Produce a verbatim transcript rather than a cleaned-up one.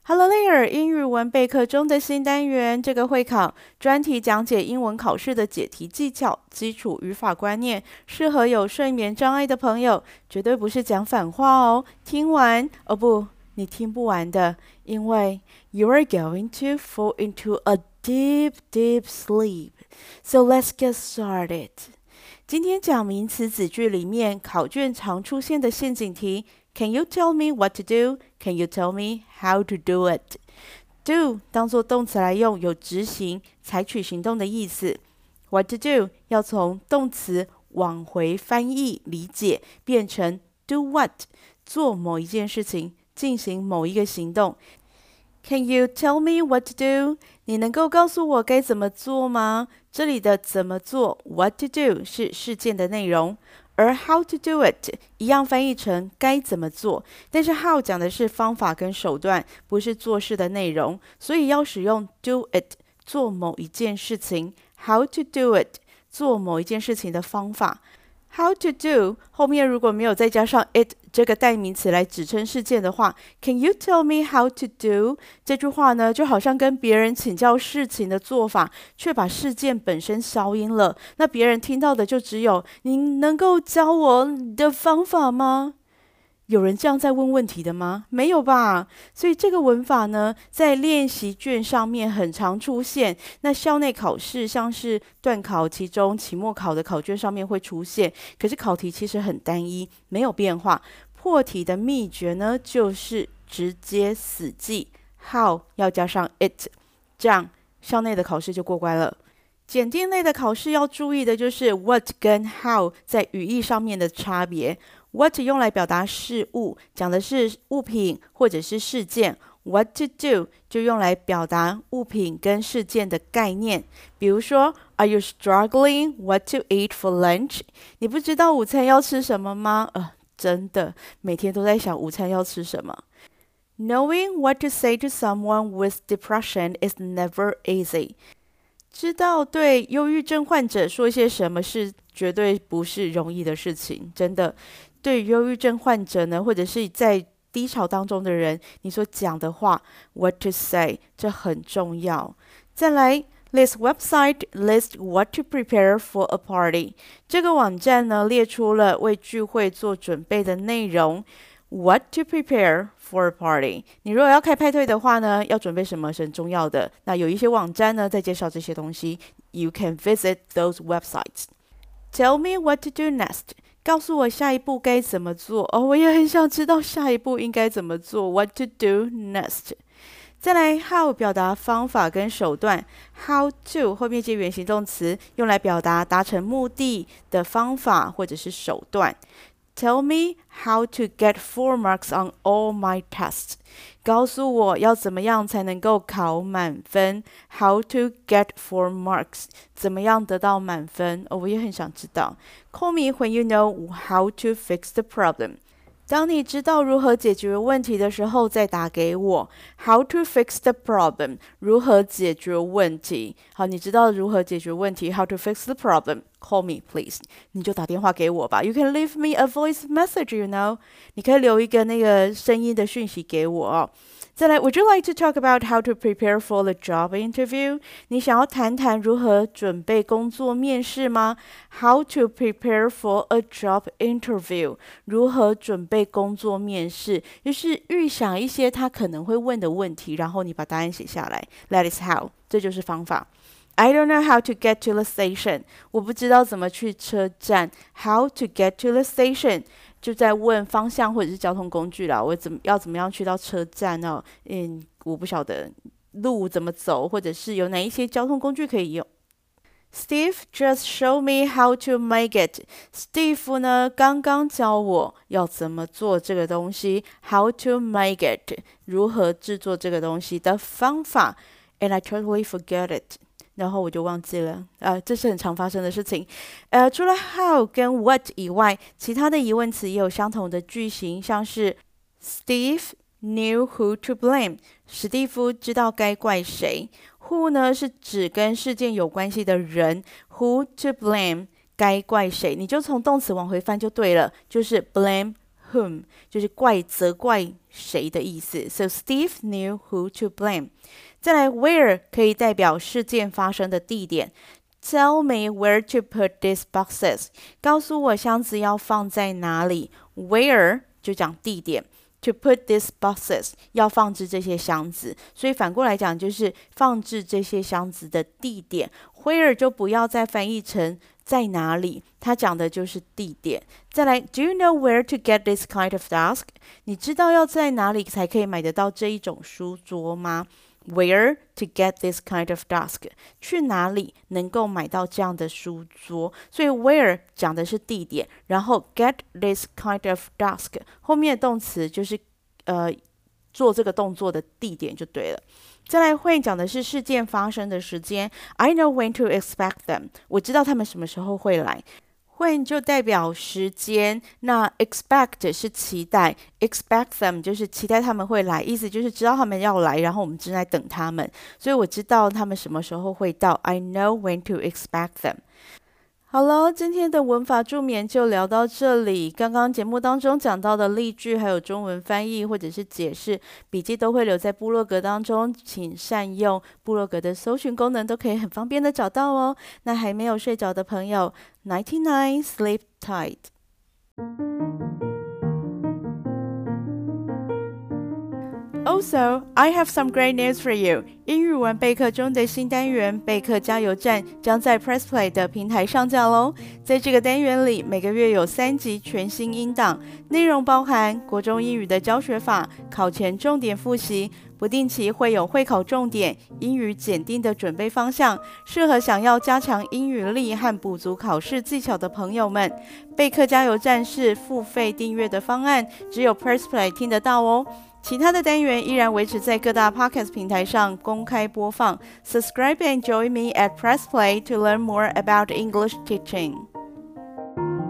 Hello there， 英語文備課中的新單元，這個會考專題講解英文考試的解題技巧、基礎語法觀念，適合有睡眠障礙的朋友，絕對不是講反話哦。聽完哦不，你聽不完的，因為 you are going to fall into a deep, deep sleep. So let's get started. 今天講名詞子句裡面考卷常出現的陷阱題。Can you tell me what to do? Can you tell me how to do it? Do 當作動詞來用，有執行、採取行動的意思。What to do 要從動詞往回翻譯理解，變成 do what 做某一件事情，進行某一個行動。Can you tell me what to do? 你能夠告訴我該怎麼做嗎？這裡的怎麼做 what to do 是事件的內容，而 how to do it 一樣翻譯成該怎麼做，但是 how 講的是方法跟手段，不是做事的內容，所以要使用 do it 做某一件事情， how to do it 做某一件事情的方法。How to do 後面如果沒有再加上 it 這個代名詞來指稱事件的話， Can you tell me how to do 這句話呢，就好像跟別人請教事情的做法，卻把事件本身消音了。那別人聽到的就只有你能夠教我的方法嗎？有人這樣在問問題的嗎？沒有吧。所以這個文法呢，在練習卷上面很常出現。那校內考試，像是段考、期中、期末考的考卷上面會出現。可是考題其實很單一，沒有變化。破題的秘訣呢，就是直接死記 how 要加上 it， 這樣校內的考試就過關了。檢定類的考試要注意的就是 what 跟 how 在語義上面的差別。What 用來表達事物，講的是物品或者是事件。What to do 就用來表達物品跟事件的概念。比如說 Are you struggling what to eat for lunch? 你不知道午餐要吃什麼嗎？呃，真的，每天都在想午餐要吃什麼。Knowing what to say to someone with depression is never easy. 知道對憂鬱症患者說些什麼是絕對不是容易的事情，真的。對於憂鬱症患者呢，或者是在低潮當中的人，你所講的話 what to say 這很重要。再來 This website lists what to prepare for a party。 這個網站呢，列出了為聚會做準備的內容。What to prepare for a party。 你如果要開派對的話呢，要準備什麼是很重要的。那有一些網站呢，在介紹這些東西。You can visit those websites. Tell me what to do next。告訴我下一步該怎麼做。哦，我也很想知道下一步應該怎麼做。What to do next？ 再來 how 表達方法跟手段。How to 後面接原形動詞，用來表達達成目的的方法或者是手段。Tell me how to get four marks on all my tests. 告訴我要怎麼樣才能夠考滿分。How to get four marks. 怎麼樣得到滿分？哦，我也很想知道。Call me when you know how to fix the problem. 當你知道如何解決問題的時候，再打給我。How to fix the problem. 如何解決問題？好，你知道如何解決問題 ？How to fix the problem? Call me, please. 你就打電話給我吧。You can leave me a voice message, you know. 你可以留一個那個聲音的訊息給我哦。再來 ，Would you like to talk about how to prepare for the job interview? 你想要談談如何準備工作面試嗎 ？How to prepare for a job interview? 如何準備工作面試？就是預想一些他可能會問的問題，然後你把答案寫下來。That is how. 這就是方法。I don't know how to get to the station. 我不知道怎麼去車站。How to get to the station? 就在問方向或者是交通工具啦。我怎麼要怎麼樣去到車站哦？嗯，我不曉得路怎麼走，或者是有哪一些交通工具可以用。Steve just showed me how to make it. Steve 呢，剛剛教我要怎麼做這個東西。How to make it. 如何製作這個東西的方法。And I totally forget it. 然後我就忘記了，呃，這是很常發生的事情。呃，除了 how 跟 what 以外，其他的疑問詞也有相同的句型，像是 Steve knew who to blame。史蒂夫知道該怪誰。Who 呢是指跟事件有關係的人 ，who to blame 該怪誰，你就從動詞往回翻就對了，就是 blame whom， 就是怪責怪誰的意思。So Steve knew who to blame。再來 where 可以代表事件發生的地點。Tell me where to put these boxes。告訴我箱子要放在哪裡。Where 就講地點。To put these boxes 要放置這些箱子，所以反過來講就是放置這些箱子的地點。Where 就不要再翻譯成在哪裡，它講的就是地點。再來 ，Do you know where to get this kind of desk？ 你知道要在哪裡才可以買得到這一種書桌嗎？Where to get this kind of desk？ 去哪裡能夠買到這樣的書桌？所以 where 講的是地點，然後 get this kind of desk 後面的動詞就是呃做這個動作的地點就對了。再來會講的是事件發生的時間 ，I know when to expect them。我知道他們什麼時候會來。When 就代表時間，那 expect 是期待 ，expect them 就是期待他們會來，意思就是知道他們要來，然後我們正在等他們，所以我知道他們什麼時候會到 ，I know when to expect them。好了，今天的文法助眠就聊到這裡。剛剛節目當中講到的例句，還有中文翻譯或者是解釋，筆記都會留在部落格當中，請善用部落格的搜尋功能，都可以很方便的找到哦。那還沒有睡着的朋友 ，Nighty night, sleep tight。Also, I have some great news for you. 英語文備課中的新單元備課加油站將在 PressPlay 的平台上架嘍。在這個單元裡，每個月有三集全新音檔，內容包含國中英語的教學法、考前重點複習，不定期會有會考重點、英語檢定的準備方向，適合想要加強英語力和補足考試技巧的朋友們。備課加油站是付費訂閱的方案，只有 PressPlay 聽得到哦。其他的單元依然維持在各大 Podcast 平台上公開播放。Subscribe and join me at PressPlay to learn more about English teaching.